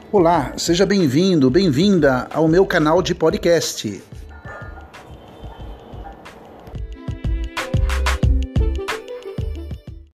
Olá, seja bem-vindo, bem-vinda ao meu canal de podcast.